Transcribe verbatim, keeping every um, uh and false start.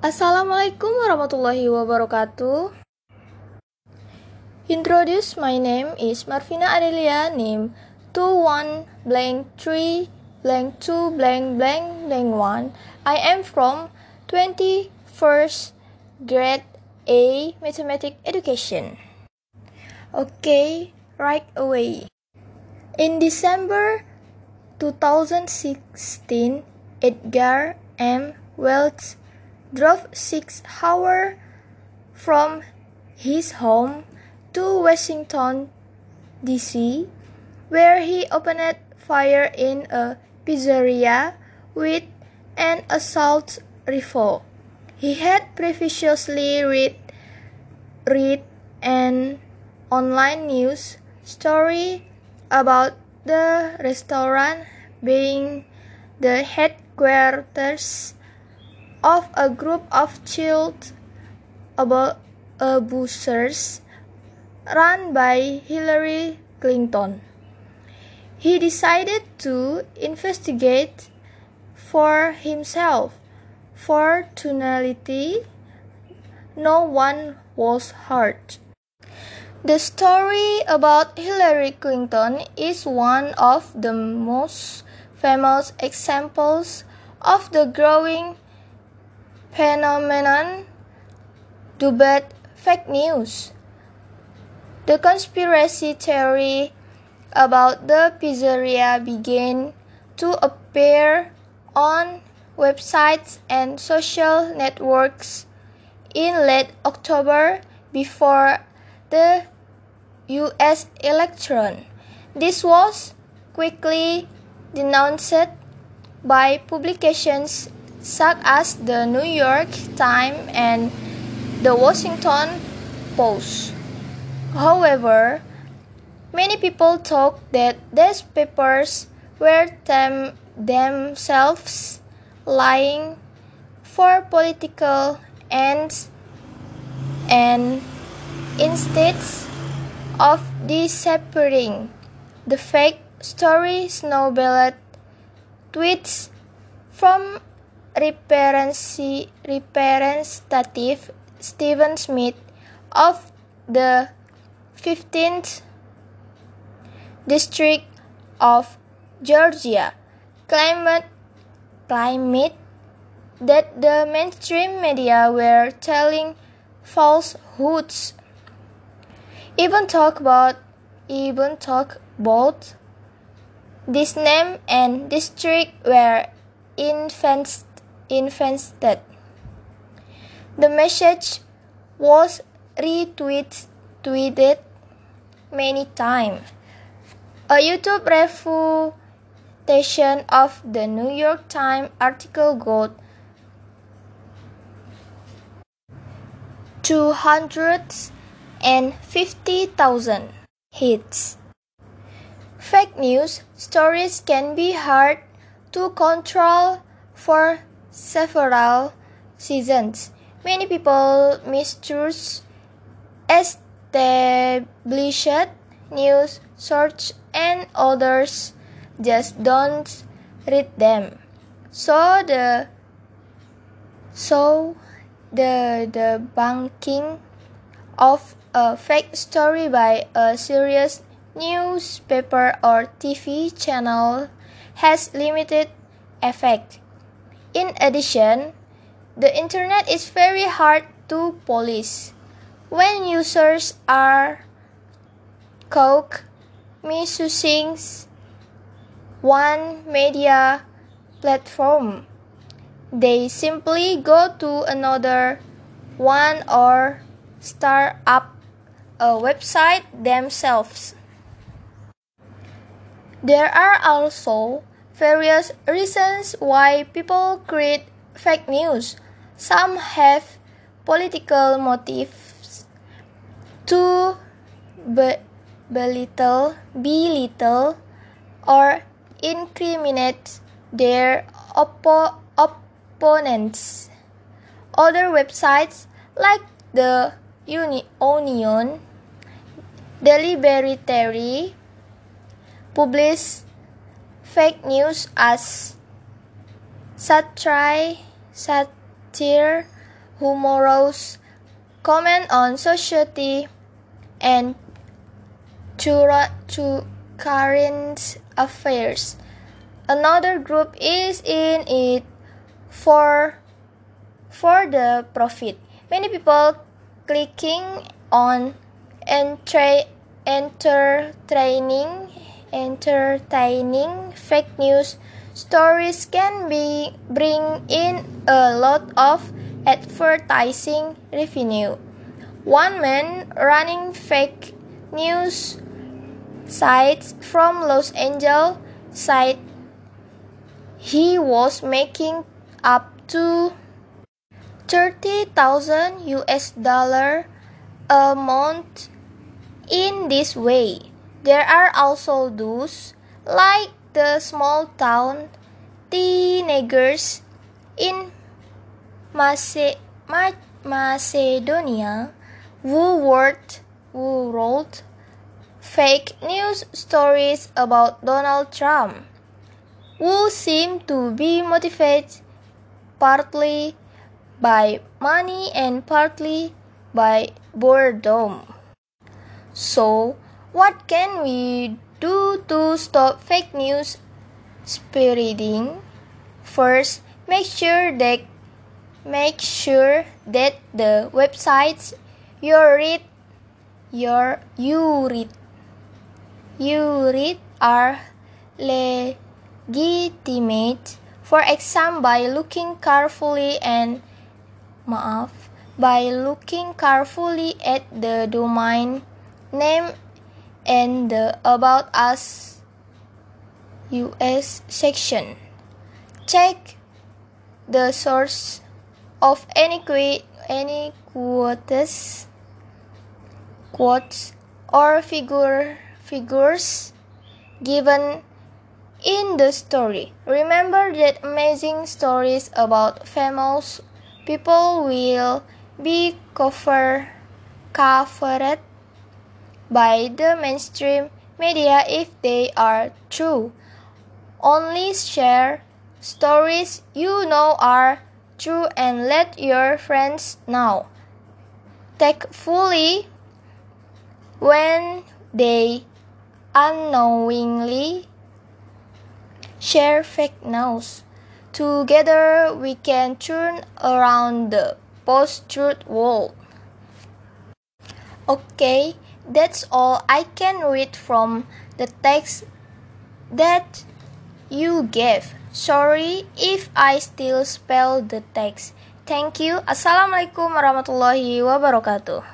Assalamualaikum warahmatullahi wabarakatuh. Introduce, my name is Marvina Adelia, name two one blank three blank two blank blank blank one. I am from twenty-first grade A Mathematics Education. Okay, right away. In December twenty sixteen, Edgar M. Wells drove six hours from his home to Washington, D C, where he opened fire in a pizzeria with an assault rifle. He had previously read, read an online news story about the restaurant being the headquarters of a group of child abusers run by Hillary Clinton. He decided to investigate for himself. Fortunately, no one was hurt. The story about Hillary Clinton is one of the most famous examples of the growing phenomenon dubbed fake news. The conspiracy theory about the pizzeria began to appear on websites and social networks in late October before the U S election. This was quickly denounced by publications such as the New York Times and the Washington Post. However, many people thought that these papers were them themselves lying for political ends, and instead of deciphering the fake story, snowballed tweets from Representative Stephen Smith of the fifteenth District of Georgia claimed, claimed that the mainstream media were telling falsehoods. Even talk about even talk about this name and district were infest, infested. The message was retweeted many times. A YouTube refutation of the New York Times article got two hundred fifty thousand hits. Fake news stories can be hard to control for several reasons. Many people mistrust established news sources and others just don't read them. So the so the the banking of a fake story by a serious newspaper or T V channel has limited effect. In addition, the internet is very hard to police. When users are caught misusing one media platform, they simply go to another one or start up a website themselves. There are also various reasons why people create fake news. Some have political motives to be- belittle, belittle or incriminate their oppo- opponents. Other websites like the Uni- Onion deliberately publish fake news as satire, satire humorous, comment on society, and to current affairs. Another group is in it for for the profit. Many people clicking on entre, entertaining entertaining fake news stories can be bring in a lot of advertising revenue. One man running fake news sites from Los Angeles said he was making up to thirty thousand U S dollar a month in this way. There are also those, like the small town teenagers in Mace- Ma- Macedonia who wrote, who wrote fake news stories about Donald Trump, who seem to be motivated partly by money and partly by boredom. So, what can we do to stop fake news spreading? First, make sure that make sure that the websites you read your you read you read are legitimate. For example, by looking carefully and maaf, by looking carefully at the domain name and the About Us U S section. Check the source of any qu- any quotes, quotes or figure figures given in the story. Remember that amazing stories about famous people will be cover, covered by the mainstream media if they are true. Only share stories you know are true and let your friends know. Take fully when they unknowingly share fake news. Together we can turn around the post-truth world. Okay, that's all I can read from the text that you gave. Sorry if I still spell the text. Thank you. Assalamualaikum warahmatullahi wabarakatuh.